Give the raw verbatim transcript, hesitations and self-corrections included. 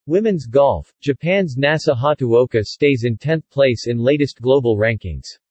Women's golf, Japan's Nasa Hataoka stays in tenth place in latest global rankings.